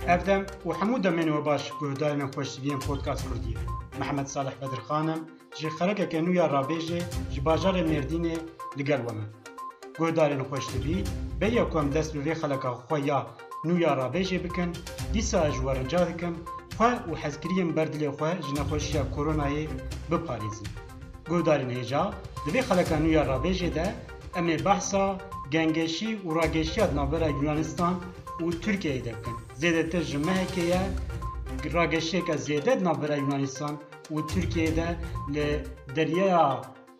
Evdem û hemû demên we baş guhdarên xweştiviyên Podcast Kurdî. Mehmed Salih Bedirxan im ji xerekeke nû ya Rabêjê ji bajarê Mêrdînê li gel we me. Guhdarên xweştivî bêya ku em dest bi vê xeleka xwe ya nû ya Rabêjê bikin, dîsa ez ji we rica dikim xwe û hezkiriyên ber dilê xwe ji nexweşiya koronayê biparêzin. Guhdarên hêja di vê xeleka nû ya Rabêjê de em ê behsa gengeşî û rageşiya di navbera Yunanistan û Tirkiyeyê de bikin. Zêdetir ji mehekê ye rageşiyeke zêde di navbera Yunanistan û Tirkiyeyê de li deryaya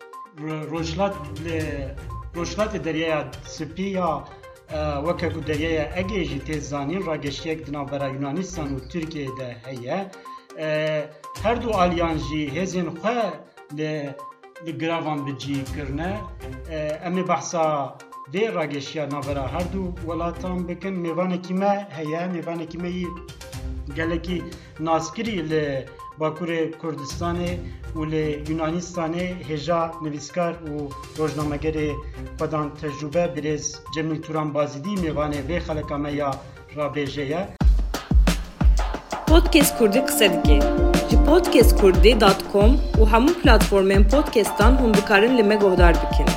Rojhilatê deryaya Spî ya weke ku deryaya Egê jî tê zanîn rageşiyek di navbera Yunanistan û Tirkiyeyê de heye. Her du aliyan jî hêzên xwe li gravan bi cî kirine. Em ê behsa vê rageşiya navbera her du welatan bikin. Mêvanekî me heye, mêvanekî me yî gelekî naskirî li Bakurê Kurdistanê û li Yunanistanê hêja nivîskar û rojnamegerê xwedan tecrübe birêz Cemîl Turan Bazidî mêvanê vê xeleka me ya Rabêjê ye. Podcast Kurdî qise dike. Ji podcastkurdî.com û hemû platformên podcastan hûn dikarin li me guhdar bikin.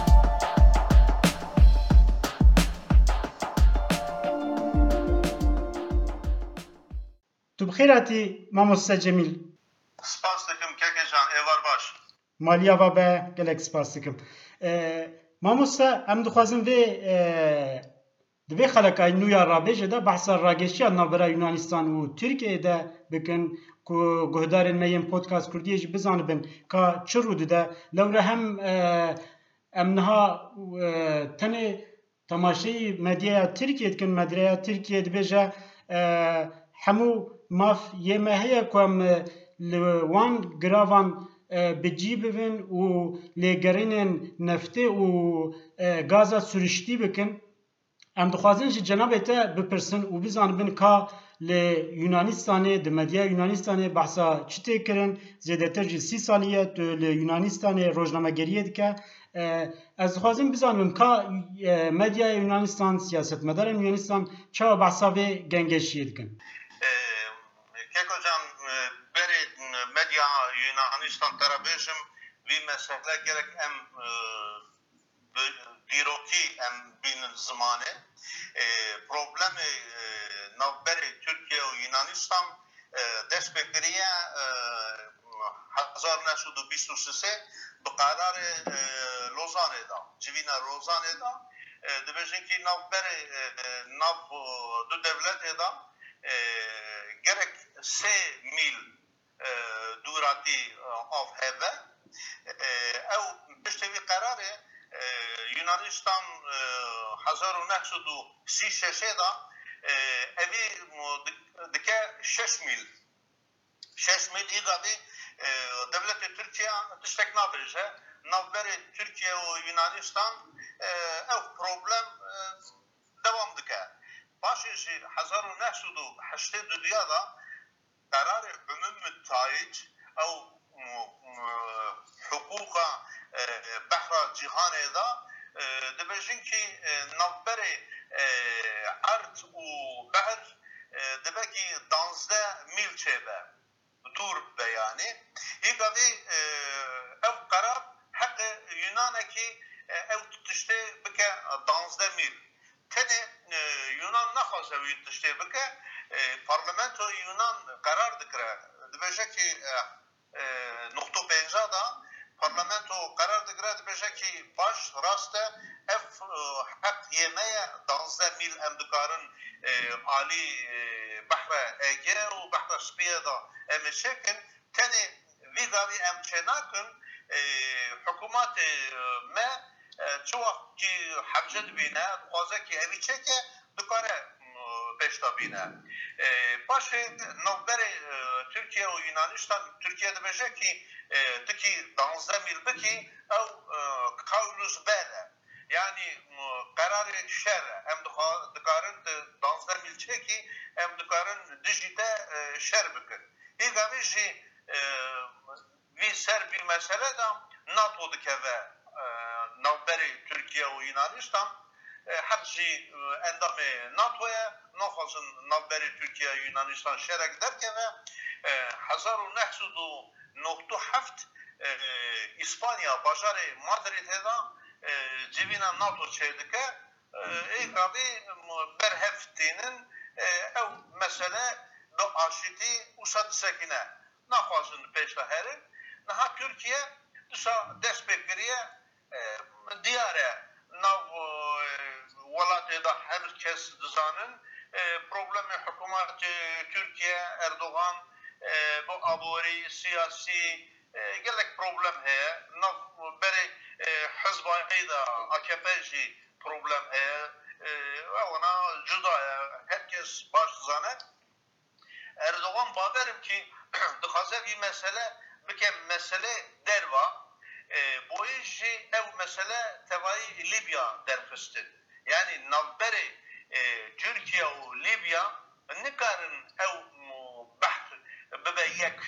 Tu bixêr hatî mamoste Cemîl. Spas dikim kekecan êvar baş. Maliya ve be gelek spas dikim. Mamoste em dixwazin vê di vê xelekayê nû ya Rabêjê de behsa rageşiya navbera Yunanistan û Tirkiyeyê de bikin ku guhdarên me yên Podcast Kurdiyê jî bizanibin ka çi rû dide. Lewre hem em niha tenê temaşeyî medyaya Tirkiye dikin, medyaya Tirkiye dibêje hemû maf yê me heye ku em li wan giravan bi cî bibin û lêgerînên neftê û gaza sürüştî bikin. Em dixwazin ji cenabê te bipirsin û bizanibin ka li Yunanistanê di medyaya Yunanistanê behsa çi tê kirin. Zêdetir jî 30 salî ye tu li Yunanistanê rojnamegeriyê dike. Ez dixwazim bizanibim ka medyaya Yunanistan, siyasetmedarên Yunanistan çawa behsa vê gengeşiyê dikin. Kekocan berê medya Yunanistan terabêjim vî mesele gerek em dîrokî em bînin zimanê. Problemê navberê Türkiye û Yunanistan dest pê kiriye 1923 bi qararê Lozanê da, civîna Lozanê da dibêjin ki navberê nav du devletê da gerek 3 mîl dûratî av hebe. Ew piştî vî qararê Yunanistan 1936 da evî dike 6 mîl. 6 mîl îgavî devletê Tirkiye tiştek nabêje. Navberê Tirkiye û Yunanistan ew problem devam dike. Paşê jî 1982 da kararê Umum Müttahid ew huquqa behra cîhanê da dibêjin ki navberê erd û behr dibekî 12 mîl çêbe. Dûr be yanî. Îgavî ew qarar heqê Yunanekî ew tiştê bike 12 mîl. Tenê Yunan naxwaze wî tiştê bike, parlamentoya Yunan qarar dikire. Dibêje ki 9.5 da parlamento qarar dikire dibêje ki baş rast e ev heq yêmeye 12 mîl em dikarin alî behra Ege û behra Spîyê da em ê çekin. Tenê vî gavî em çênakin hikûmetê me çi wext ki hebce dibîne dixwaze ki evî çeke dikare pêşta bîne. Paşê navberê Tirkiye û Yunanistan Tirkiye dibêje ki tikî 12 mîl bikî ew qawlûz bêne. Yani kararê şer em dikarin 12 mîl çekî em dikarin dijî te şer bikin. Îgavî jî vî ser vî mesele da NATO dikeve navberê Tirkiye û Yunanistan hepsi endamı NATO'ya nafazın navberi Türkiye Yunanistan şerek derken ve 1997 İspanya bajarı Madrid'de civina NATO çeydike abi berheftinin ev mesele do aşiti usad sekine nafazın peşteherin naha Türkiye dışa destekliye diyare nav velatıda herkes dizanın problemi hükümet Türkiye Erdoğan bu abori siyasi gelek problem heye nav beri hizbayı da AKP'ci problem heye ve ona cüda herkes baş zane Erdoğan baberim ki dikhaze bir mesele bikem mesele derva bu işi ev mesele tevayı Libya derfistin yani navberi Türkiye ve Libya ne karın ev baht bebeyek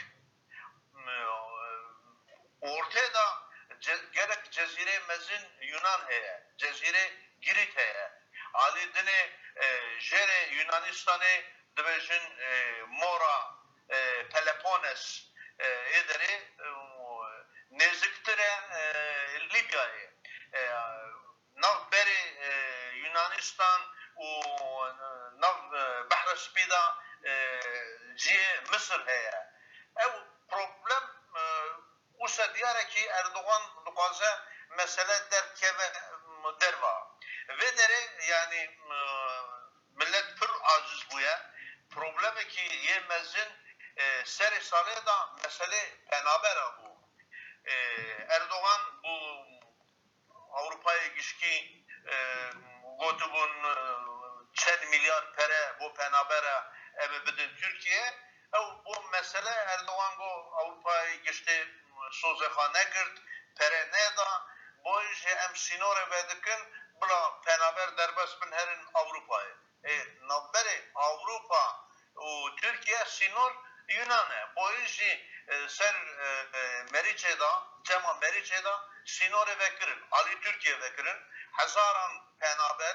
ortada gerek cezire mezin Yunan heye cezire Girit heye Ali dine jere Yunanistan'ı dibejin Mora Peloponnes ederi neziktire Libya'yı navberi Yunanistan و ناف بحر سپیدا جی مصر هیا او problem اوسا دیاره کی اردوغان دقازه mesele derkeve derva ve dere yani millet pür aciz buya problemi ki yemezin seri salı da mesele penabera bu Erdoğan bu Avrupa'ya gişki gotubun çed milyar pere bu penabera eve bidin Türkiye bu mesele Erdoğan bu Avrupa'ya geçti sozekane girt pere ne da bu işe em sinore vedikin bula penaber derbest bin herin Avrupa'yı navberi Avrupa Türkiye sinor Yunan'e bu işi ser Meriçe'da Cema Meriçe'da sinore vekirin Ali Türkiye vekirin Hazaran penaber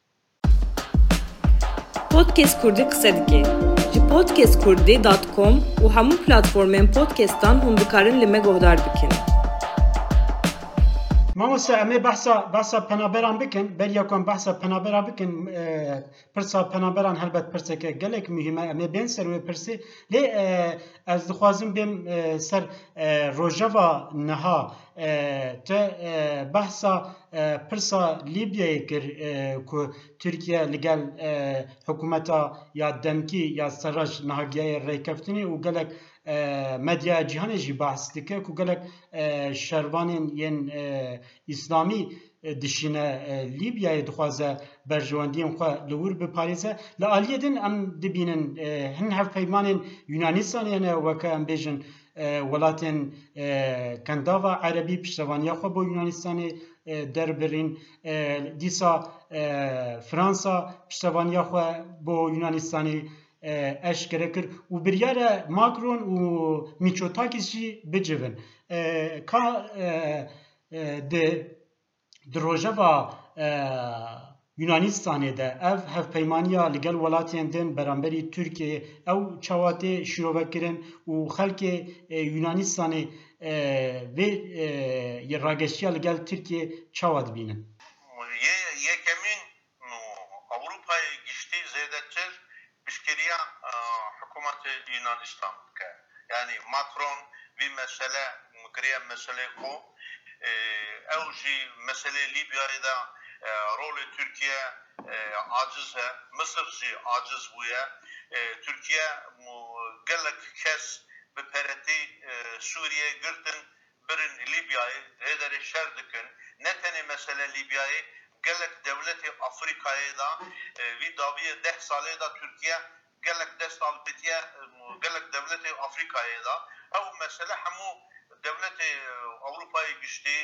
Podcast Kurdi qise dike. Ji podcastkurdi.com û hemû platformên podcastan hûn dikarin li me guhdar bikin. مامۆستا ئەمێ بەحسا پەنابەران بکەن بەریەکۆم بەحسا پەنابەرا بکەن پرسا پەنابەران هەلبەت پرسێکە گەلێک مهمە ئەمێ بێن سەر وێ پرسێ لێ ئەس دخوازم بێم سەر ڕۆژەڤا نەها تە بەحسا پرسا لیبیایê kir ku Tirkiye li gel hikûmeta ya demkî ya seraj nihagiyayê rêkeftinê û gelek medya cîhanê jî behs dike ku gelek şervanên yên İslamî dişîne Libyayê dixwaze berjewendiyên xwe li wir biparêze li aliyê din em dibînin hin hevpeymanên Yunanistanê hene weke em bêjin welatên Kendava Erebî piştevaniya xwe bo Yunanistanê derbirîn dîsa Fransa piştevaniya xwe bo Yunanistanê eşkere kir û biryare Macron û Mitsotakis jî bicivin ka di rojeva Yunanistanê de ev hevpeymaniya li gel welatên din beramberî Tirkiyeyê ew çawatê şîrovekirin û xelkê Yunanistanê vê rageşiya li gel Tirkiyeyê çawa dibînin yekemin Avrupa'ya geçti zêdetir pişkiriya hükümeti Yunanistan yani Macron bir mesele kiriye mesele ku ev jî mesele Libya'da rolü Türkiye aciz he Mısır jî aciz bûye Türkiye gelek kes bi pereti Suriye girtin birin Libya'yı hêderê şer dikin ne tenê mesele Libya'yı gelek devleti Afrika'yı da vî daviye 10 salê da Türkiye gelek dest albetiye gelek devleti Afrika'yı da ev mesele hemû devleti Avrupa'yı geçti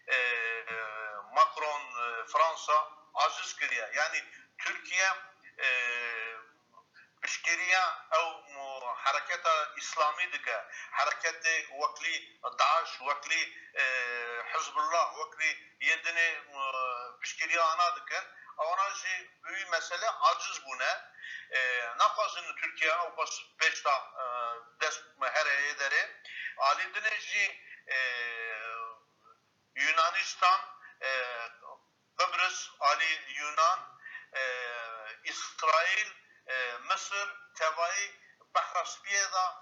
Macron Fransa aciz kiriye yani Türkiye pişkiriya ev hareketa İslami dike hareketi vekli Daesh vekli Hizbullah vekli yedini pişkiriya ana dikin Ona jî büyük mesele aciz bune. Naxwazin Türkiye ew bas pêşta dest hereye dere. Ali dine jî Yunanistan, Kıbrıs, Ali Yunan, İsrail, Mısır, tevayı Bahra Spiye da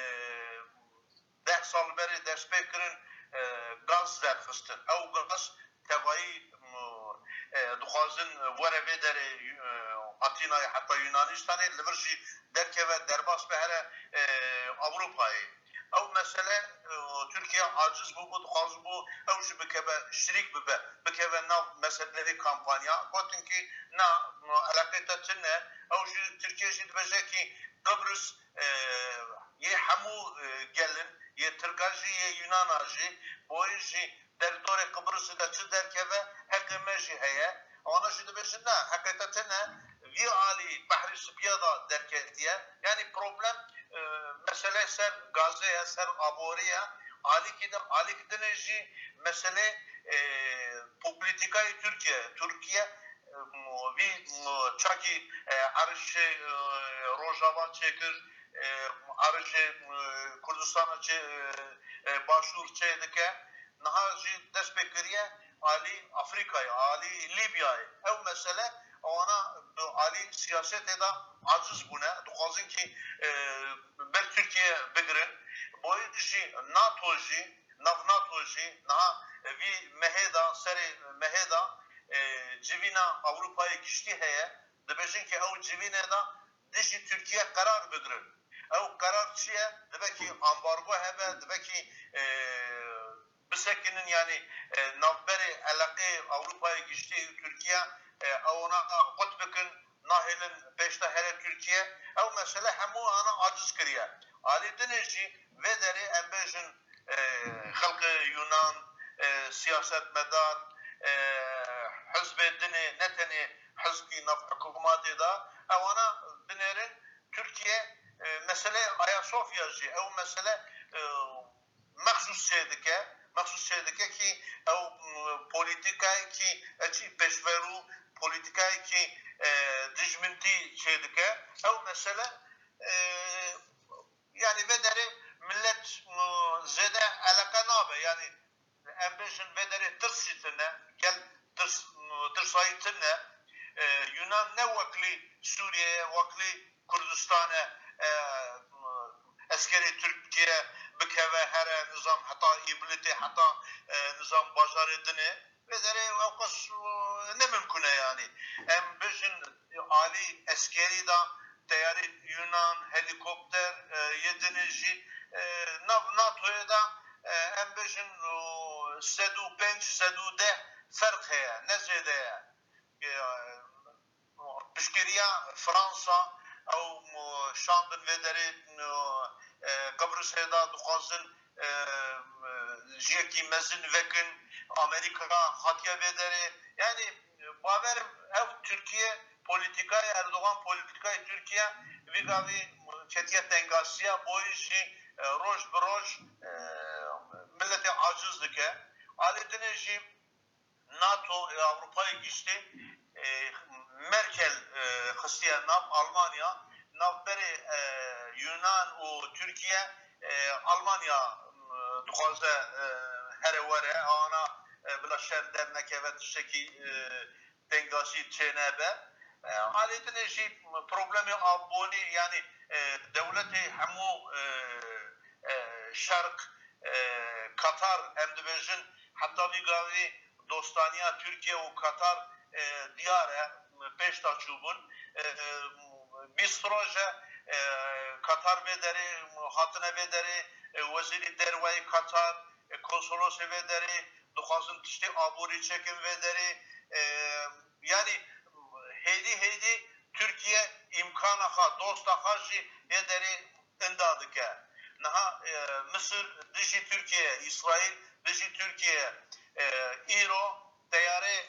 10 sal beri despê kirin gaz derxistin. Ew gaz tevayı dixwazin were vê derê Atînayê heta Yunanistanê li vir jî derkeve derbas be here Avrupayê. Ew mesele Türkiye aciz bû dixwaz bû ew jî bikeve şirîk bibe bikeve nav meselelê kampanya gotin ki na alaqê te çi ne ew jî Türkiye jî dibêje ki Kıbrıs yê hemû gelin yê Tirka jî yê Yunana jî boî jî derdorê Kıbrıs'ı da çi derkeve heqê me jî heye ona jî dibêjin ne heqê te çi ne vî alî Behrî Spiya da derketiye yani problem mesele ser Gazze'ye, ser Abori'ye, Ali Kidineci mesele politikayı Türkiye bir çaki arışı Rojava çekir, arışı Kurdistan'a başvur çeydike, nahaci despekiriye Ali Afrika'yı, Ali Libya'yı, ev mesele ona Ali siyaset eda aciz buna. Dixwazin ki ber Türkiye bigirin. Boyu jî NATO jî, nav NATO jî, naha vî meheda, serê meheda civîna Avrupayê giştî heye. Dibêjin ki ew civînê da dijî Türkiye karar bigirin. Ew karar çi ye? Dibe ki ambargo hebe, dibe ki bisekinin yani navberê alaqê Avrupayê giştî Türkiye ona qut bikin nahilin peşte here Türkiye ev mesele hemû ana aciz kiriye. Ali dinê jî vê derê em bêjin xelkê Yunan siyasetmedar hizbê dinê ne tenê hizbî nav hikûmatê da ew ana dinêrin Türkiye mesele Ayasofya jî ew mesele mexsus çêdike ki ew politikayê ki eçî pêşverû politikayê ki dijmintî çêdike ew mesele yani vê derê millet zêde eleqe nabe yani em bêjin vê derê tirsî tune gel tirsayî tune Yunan ne weklî Sûriyeyê weklî Kurdistanê eskerê Türkiye bikeve here nizam heta îbilîtê heta nizam bajarê dinê vê derê ew qas ne mümkün e yani. Em bêjin alî eskerî da teyarê Yunan helikopter yedinê jî nav NATO'ya da em bêjin 105 110 ferq heye ne zêde ye. Piştgiriya Fransa ew şandin vê derê Kıbrıs'ê da dixwazin jiyekî mezin vekin Amerika hatiye vê derê yani baverim ev Türkiye politikayı Erdoğan politikayı Türkiye vî gavî ketiye tengasiya boî jî roj bi roj milletê aciz dike. Alî dinê jî NATO Avrupayê giştî Merkel xistiye nav Almanya navberê Yunan û Türkiye Almanya dixwaze here were ana bila şer dernekeve tiştekî tengasî çênebe alî dinê jî problemê abonî yani devletê hemû şerq Katar em dibêjin heta vî gavî dostaniya Türkiye û Katar diyar e pêşta çûbûn bîst roje Katar vê derê hatine vê derê wezîrî derweyê Katar konsolosê vê derê dixwazin tiştê aborî çekin vê derê yani hêdî Türkiye imkana xwe dosta xwe jî vê derê inda dike. Niha Mısır dijî Türkiye, İsrail dijî Türkiye, îro teyarê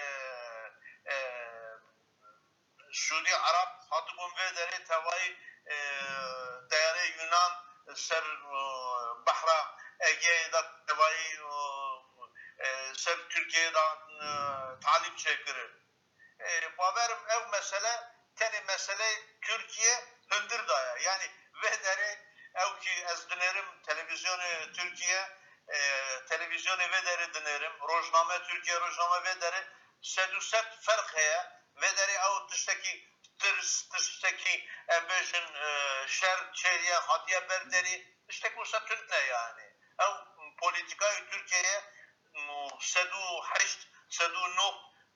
Suudi Arab hatibûn vê derê tevayî teyarê Yunan ser Bahra Ege'ye da tevayî ser Türkiye'ye da talip çekirir. baverim ev mesele teni mesele Türkiye hındır daya. Yani ve deri ev ki ez dinerim televizyonu Türkiye televizyonu ve deri dinerim. Rojname Türkiye rojname ve deri seduset fark heye ve deri ev tıştaki bejin şer çeriye hatiye berderi işte bu Türk ne yani. Ev politikayı Türkiye'ye sedu haşt sedu nuh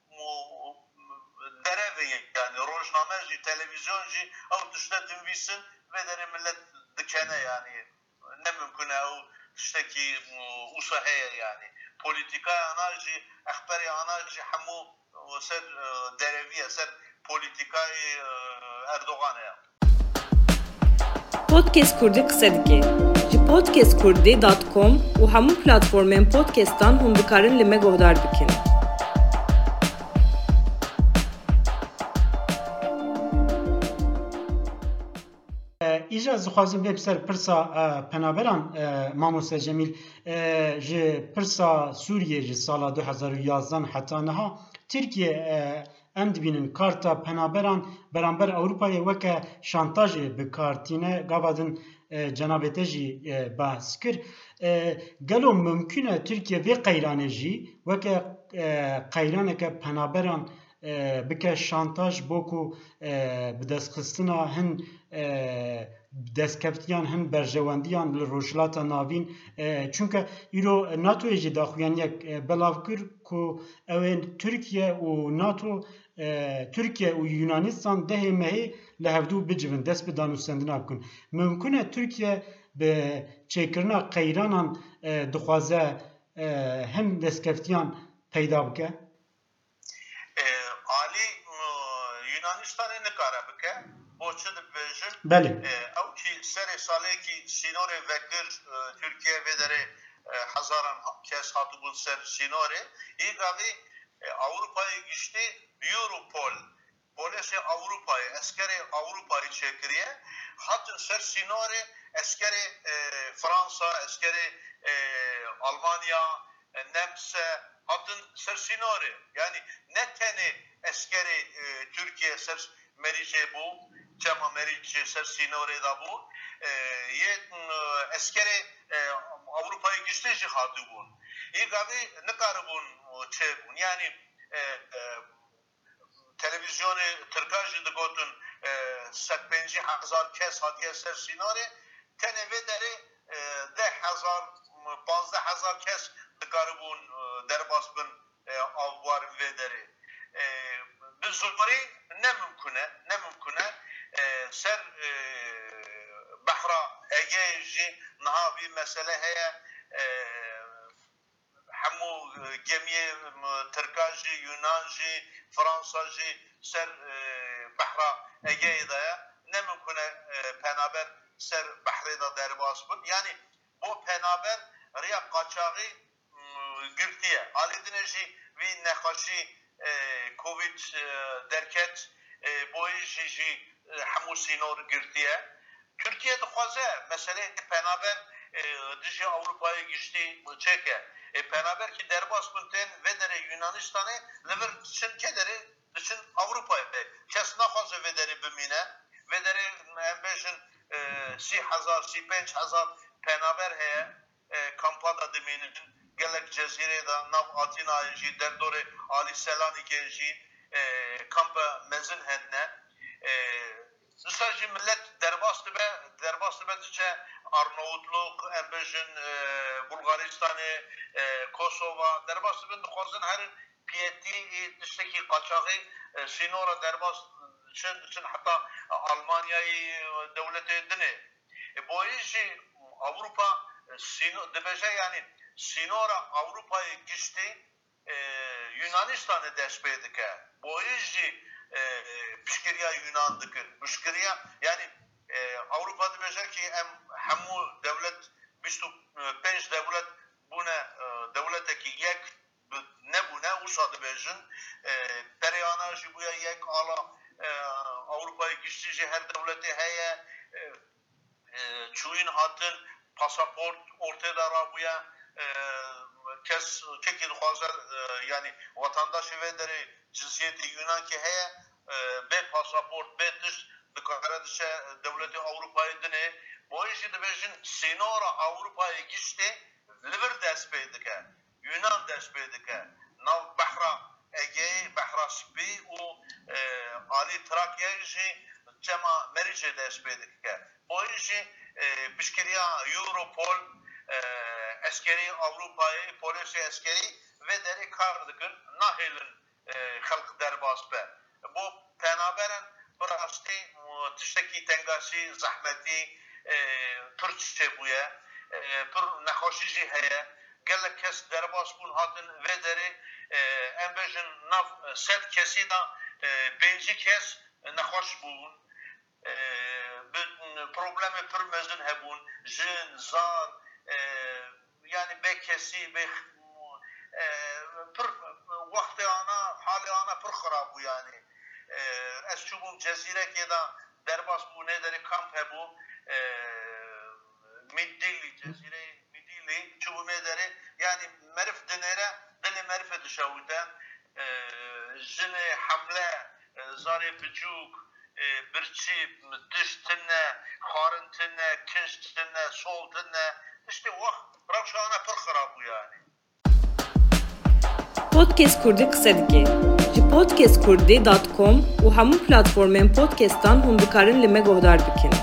derevi yani rojname televizyon ev tışta dinvisin ve deri millet dikene yani ne mümkün ev tıştaki usaheye yani politika anajı akbari anajı hamu ser dereviye ser politikayı Erdoğan'a yaptı. Podcast Kurdi qsedike. Ji podcastkurdi.com û hemû platformên podcastan hûn dikarin li me guhdar bikin. ایجا زخوازم به بسر پرسا پنابران ماموسا جمیل جه پرسا سوریه جه سالا 2011 حتی نها ترکیه ام دبینن کارتا پنابران برانبر اوروپای وکه شانتاج بکارتینه گابادن جنابته جی بحث کر گلو ممکنه ترکیه وی قیرانه جی وکه قیرانه که پنابران بکه شانتاج بوکو بدست خستنا هن دستکفتیان هن برجواندیان لروجلاتا ناوین چونکه ایرو ناتو ایجی داخویان یک بلاو کر که اوین ترکیه و ناتو ترکیه و یونانستان ده مهی لهفدو بجون دست بدان و سندنا بکن ممکنه ترکیه به چیکرنا قیرانان دخوازه هم دستکفتیان پیدا بکه Ali Yunanistan'ı ne kara bike boçu da bejin بله او ki seri sale ki sinore vekir Türkiye ve dere hazaran kes hatı bu ser sinore ilk abi Avrupa'yı geçti Europol polisi Avrupa'yı askeri Avrupa'yı çekiriye hatın ser sinore askeri Fransa askeri Almanya Nemse hatın ser sinore yani ne tane askeri Türkiye ser merice bu Çema merice ser sinore da bu ye askeri Avrupa'yı geçti cihadı bu ilk abi ne kadar bu çekun yani televizyonu Türkajı da gotun 50,000 kes hatiye ser sinore tene ve deri 10,000 kes dikaribun derbasbın avvar ve deri bizuri ne mümküne ser bahra Ege'ji nahavi mesele heye hamu gemiye Türkajı, Yunanjı, Fransajı ser bahra Ege'yi daya ne mümküne penaber ser bahri da derbasbın yani bu penaber riya kaçağı girtiye alidineji ve nekhaşi Covid derket boyuji hamu sinor girtiye Türkiye'de fazla mesele penaber dizi Avrupa'ya geçti çeke penaber ki derbasbınten ve dere Yunanistan'ı lever için kederi için Avrupa'ya kesna fazla ve dere bimine ve dere embejin 3,000 penaber heye kampada deminin gelek cezireda nav Atina'yı jî derdore Ali Selanik'e jî kampa mezin henne sadece millet derbastı be diye Arnavutluk, embejin Bulgaristan'ı, Kosova derbastı be dixwazin her piyeti dişteki kaçağı sinora derbast için hatta Almanya'yı devlete dine bu işi Avrupa debeje yani sinora Avrupa'yı geçti Yunanistan'ı despedike bu işi pişkiriya Yunan dikir pişkiriya yani Avrupa'da debeje ki hamu devlet 25 devlet buna devleteki yek ne buna usa debejin periyana jibuya yek ala Avrupa'yı geçti her devleti heye çuyun hatın pasaport ortada rabuya kes çekil hazır yani vatandaşı ve deri cinsiyeti Yunan ki heye be pasaport be tişt dikare dişe devleti Avrupa'yı dine bu işi de bejin sinora Avrupa'ya geçti liver despedike Yunan despedike nav bahra Ege bahra Spi u Ali Trakya'yı cema merice despedike bu işi pişkiriya Europol askeri Avrupa'yı polisi askeri ve deri kar dikin nahilin halk derbas be bu penaberen براستی تشتکی تنگاسی زحمتی پرچه بوده پر نخوشیجی هیا گله کس درباس بون هاتن و داره ام بجن ناف ست کسی دا بینجی کس نخوش بون problem پر mezun hebun jin zar yani be kesi be per vakti ana hali ana per kharab bu yani از چوبم جزیره که دا درباس بو نداره کامپ هبو میدیلی جزیره میدیلی چوبم نداره yani مرف دنره دل مرف دشاوته جن حمله زاری بجوک برچی دشتنه خارنتنه کنشتنه soltنه işte vakt ravşana pır xarabı yani Podcast Kurdi qise dike. Ji podcastkurdi.com û hemû platformên podcastan hûn dikarin li me guhdar bikin.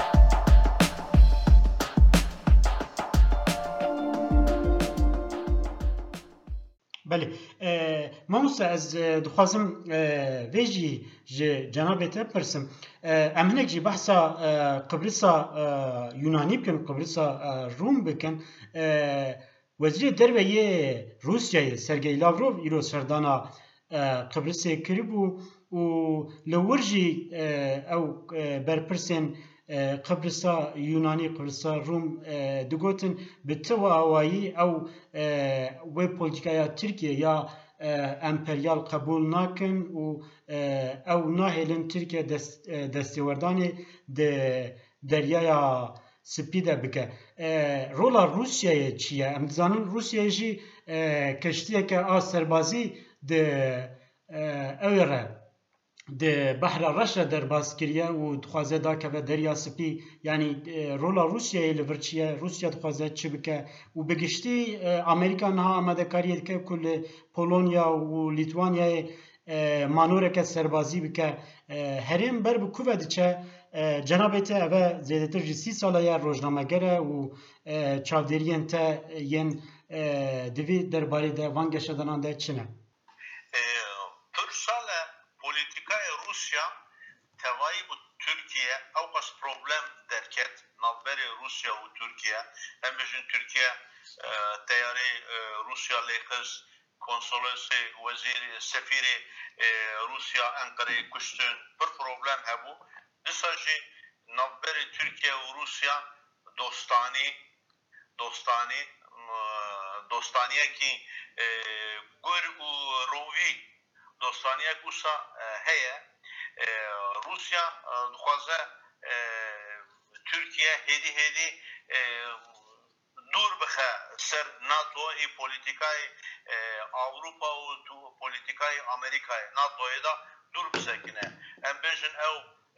بله ماموسا از دخوازم ویجی جنابه te پرسم ام هنک جی بحثا قبرصا یونانی بکن قبرصا روم بکن وزیر دربه روسیای سرگئی لاوروف ایرو سردانا قبرصه کریبو و لورجی او برپرسن قبرصا یونانی قبرصا روم دگوتن به تو آوایی او و پولیتیکایا ترکیه یا امپریال قبول نکن و او ناهلن ترکیه دستیوردانی دریایا سپیده بکه رولا روسیه چیه؟ ام دزانن روسیه جی کشتیه که سربازی ده اوره ده بحر رشا در باز کریه و دخوازه دا که به دریا سپی یعنی رولا روسیه لورچیه روسیه دخوازه چی بکه و بگشتی امریکا نها آمده کاریه که کل پولونیا و لیتوانیا مانوره که سربازی بکه هرین بر بکوه دیچه جنابه ته اوه زیادتر جی 30 ساله یا روزنامه گره و چاودرین ته ین دوی درباره ده وانگه شدنان ده چنه؟ Türksale politikaya Rusya tevayı bu Türkiye avkas problem derket navberi Rusya ve Türkiye hem bizim Türkiye teyari Rusya lehkız konsolosy veziri sefiri Rusya Ankara'yı kuştun bir problem hebu disajı navberi Türkiye ve Rusya dostaniye ki gur u rovi dostaniye kusa heye Rusya dixwaze Türkiye hedi dur bixe ser NATO politikayı Avrupa u politikayı Amerika'yı NATO'ya da dur bisekine em bejin ev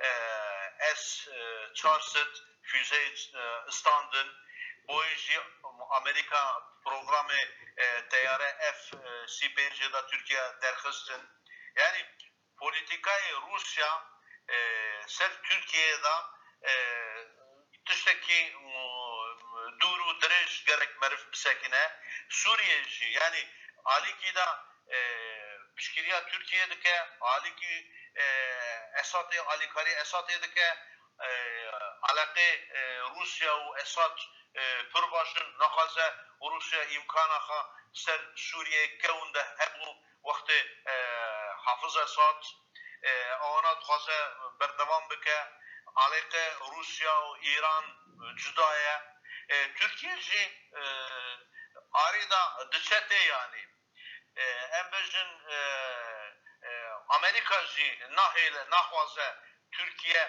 S-400 füze standın boyunca Amerika programı teyare F-5'de Türkiye derkistin. Yani politikayı Rusya ser Türkiye'de tişteki duru direş gerek merif bisekine Suriye'ci yani Aliki'de pişkiriya Türkiye'deki Aliki Esad'ı Alikari Esad'ı'daki alakı Rusya ve Esad pırbaşın nakhaze Rusya imkanaha ser Suriye kevunde hebu vakti Hafız Esad ona dixwaze berdevam bike alakı Rusya ve İran cudaya Türkiye jî arida diçete yani em bejin Amerika jî nahêle naxwaze Türkiye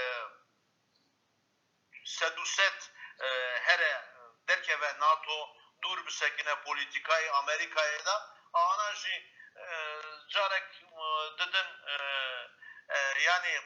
seduset here derkeve NATO dur bisekine politikayı Amerika'ya da ana jî carek dedin yani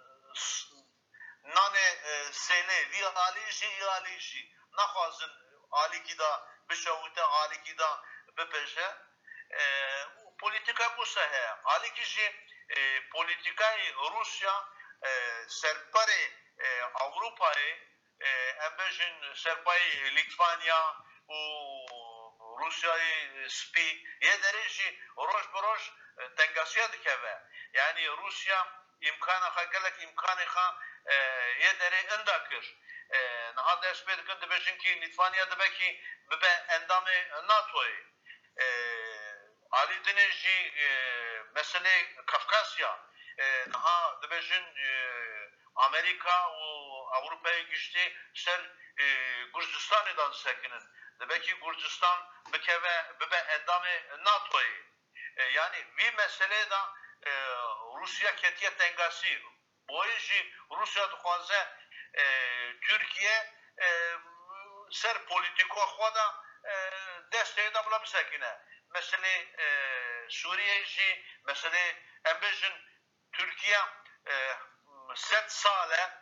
nane sele vi aliji naxwazin alîkî da bişewite alîkî da bipêje polîtika bûse heye alîkî jî polîtikayê Rusya serperê Avrupayê em bêjin serpayê Litvanya û Rusyayê spî yê derê jî roj bi roj tengasiya dikeve yani Rusya imkana xwe gelek imkanê xwe yê derê inda kir niha dest pê dikin dibêjin kî Litvanya dibekî bibe endamê NATOyê alî dinê jî meselê Kafkasya niha dibêjin Amerika û Avrupayê giştî ser Gürcistanê da disekinin dibekî Gürcistan bikeve bibe endamê NATOyê yani vî meselê da Rusya ketiye tengasî boyê jî Rusya dixwaze Türkiye ser polîtîka xwe da destê da bila bisekine meselê Sûriyê jî meselê em bêjin Türkiye 7 sale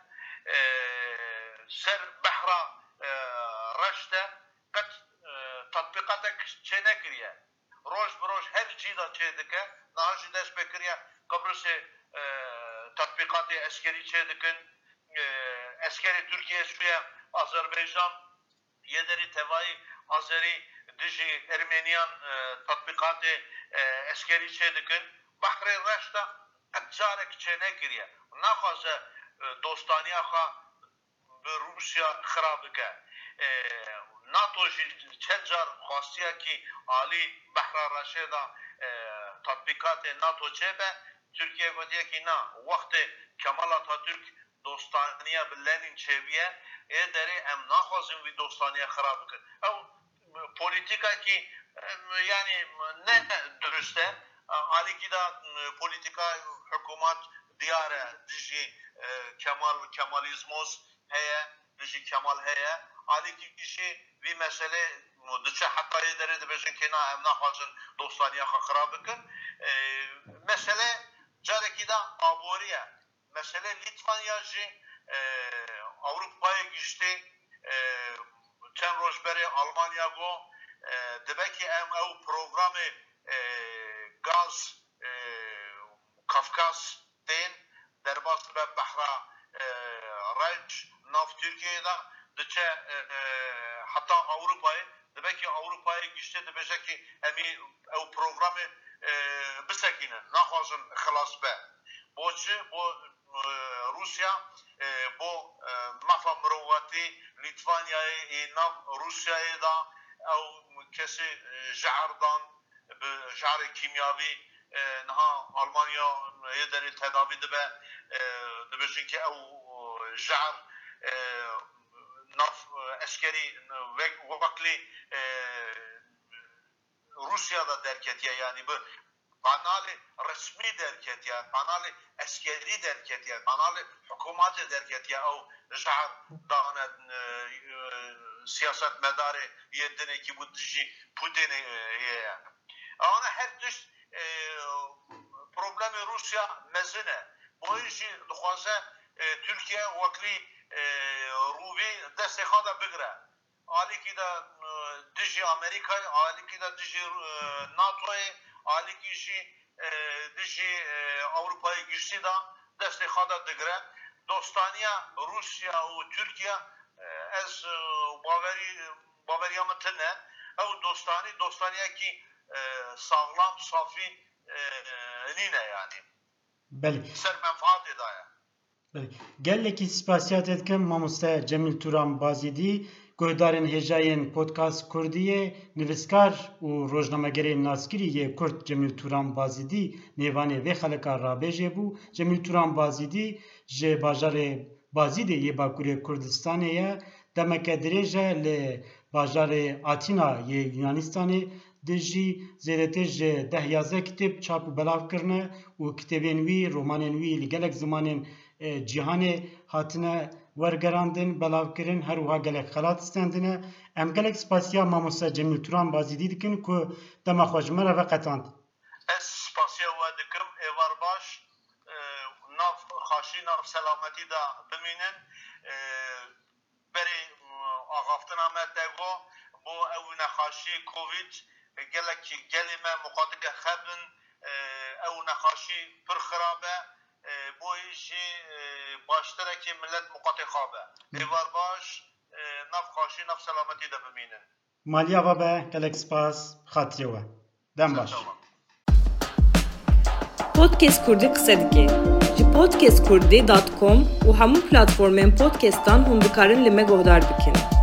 ser behra reşte qet tatbîqatek çê nekiriye roj bi roj her cî da çê dike niha jî dest pê kiriye Qebrîsê tatbîqatê eskerî çê dikin eskerê Türkiye Sûriye Azerbaycan yê derî tevayî Azerî dijî Ermeniyan tatbîqatê eskerî çê dikin behrê reş da qet carek çê nekiriye naxwaze dostaniya xwe bi Rusya xirab bike NATO jî çend car xwastiye kî alî behra reşê da tatbîqatê NATO çêbe Türkiye gotiye kî na wextê Kemal Atatürk dostaniya bi Lenin çêbiye ê derê em naxwazin vî dostaniya xirab bikin ew polîtika kî yani ne durust e alîkî da polîtika hikûmet diyar e dijî Kemalizmos heye dijî Kemal heye alîkî jî vî meselê diçe heta yê derê dibêjin kê na em naxwazin dostaniya xwe xirab bikin mesele carekî da aboriye mesele Litvanya jî Avrupayê giştî çend roj berê Almanya got dibekî em ew programê gaz Kafkas tên derbas be behra reç nav Türkiye'ye da diçe hatta Avrupayê dibekî Avrupayê giştî dibêje kî emî ew programê bisekînin naxwazin xilas be boçi bo Rusya bo mafa mirovatî Litvanyayê nav Rusyayê da ew kesî jehr dan bi jehrê kîmyavî niha Almanya yê derê tedavî dibe dibêjin ki ew jehr nav eskerî weklî Rusya'da derketiye yani bu kanalê resmî derketiye kanalê eskerî derketiye kanalê hikûmetê derketiye ew jehr dane siyasetmedarê yê dinekî bû dijî Putinê ye ana her tişt problemê Rusya mezin e boyê jî dixwaze Türkiye weklî rûvî destê xwe da bigire alîkî da dijî Amerikayê alîkî da dijî NATOyê alîkî jî dijî Avrupayê giştî da destê xwe da digire dostaniya Rusya û Türkiye ez baveriya min tune ew dostaniyekî sağlam safî nîne yani ser menfaatê da ye gelekî spasiyat etkim mamoste Cemil Turan Bazîdî guhdarên hêjayên Podcast Kurdiyê nivîskar û rojnamegerê Naskirî Kurd Cemil Turan Bazîdî nêvanê vê xeleka rabêjê bû. Cemil Turan Bazîdî ji bajarê Bazîdê yê Bakurê Kurdistanê ye demeke dirêj e li bajarê Atina yê Yunanistanê dijî zêdetî ji 10-11 kitêb çap û belav kirine û kitêbên wî romanên wî li gelek zimanên cîhanê hatine wergerandin belavkirin her wiha gelek xelat stendine em gelek spasiya mamoste Cemil Turan Bazîdî dikin ku dema xwe ji me re veqetand ez spasiya نخاشی ناف سلامتی دا بمینن بری آغافتن آمد دگو بو او نخاشی کووید گلی ما مقادق خبن او نخاشی پر خرابه بو ایشی باشتره که ملت مقاطع خوابه دیوار باش ناف خاشی ناف سلامتی دا بمینن مالیا و به گلک سپاس خاطیه و دم باش Podcast Kurdi qise dike. Ji podcastkurdi.com û hemû platformên podcastan hûn dikarin li me guhdar bikin.